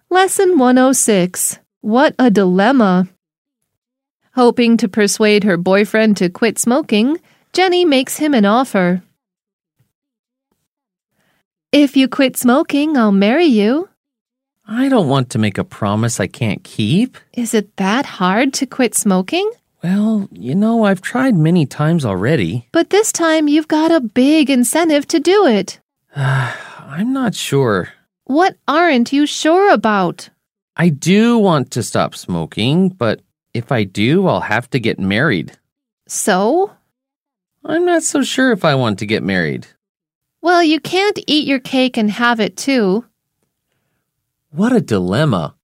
Lesson 106. What a dilemma. Hoping to persuade her boyfriend to quit smoking, Jenny makes him an offer. If you quit smoking, I'll marry you. I don't want to make a promise I can't keep. Is it that hard to quit smoking? Well, I've tried many times already. But this time you've got a big incentive to do it. I'm not sure. What aren't you sure about? I do want to stop smoking, but if I do, I'll have to get married. So? I'm not so sure if I want to get married. Well, you can't eat your cake and have it too. What a dilemma.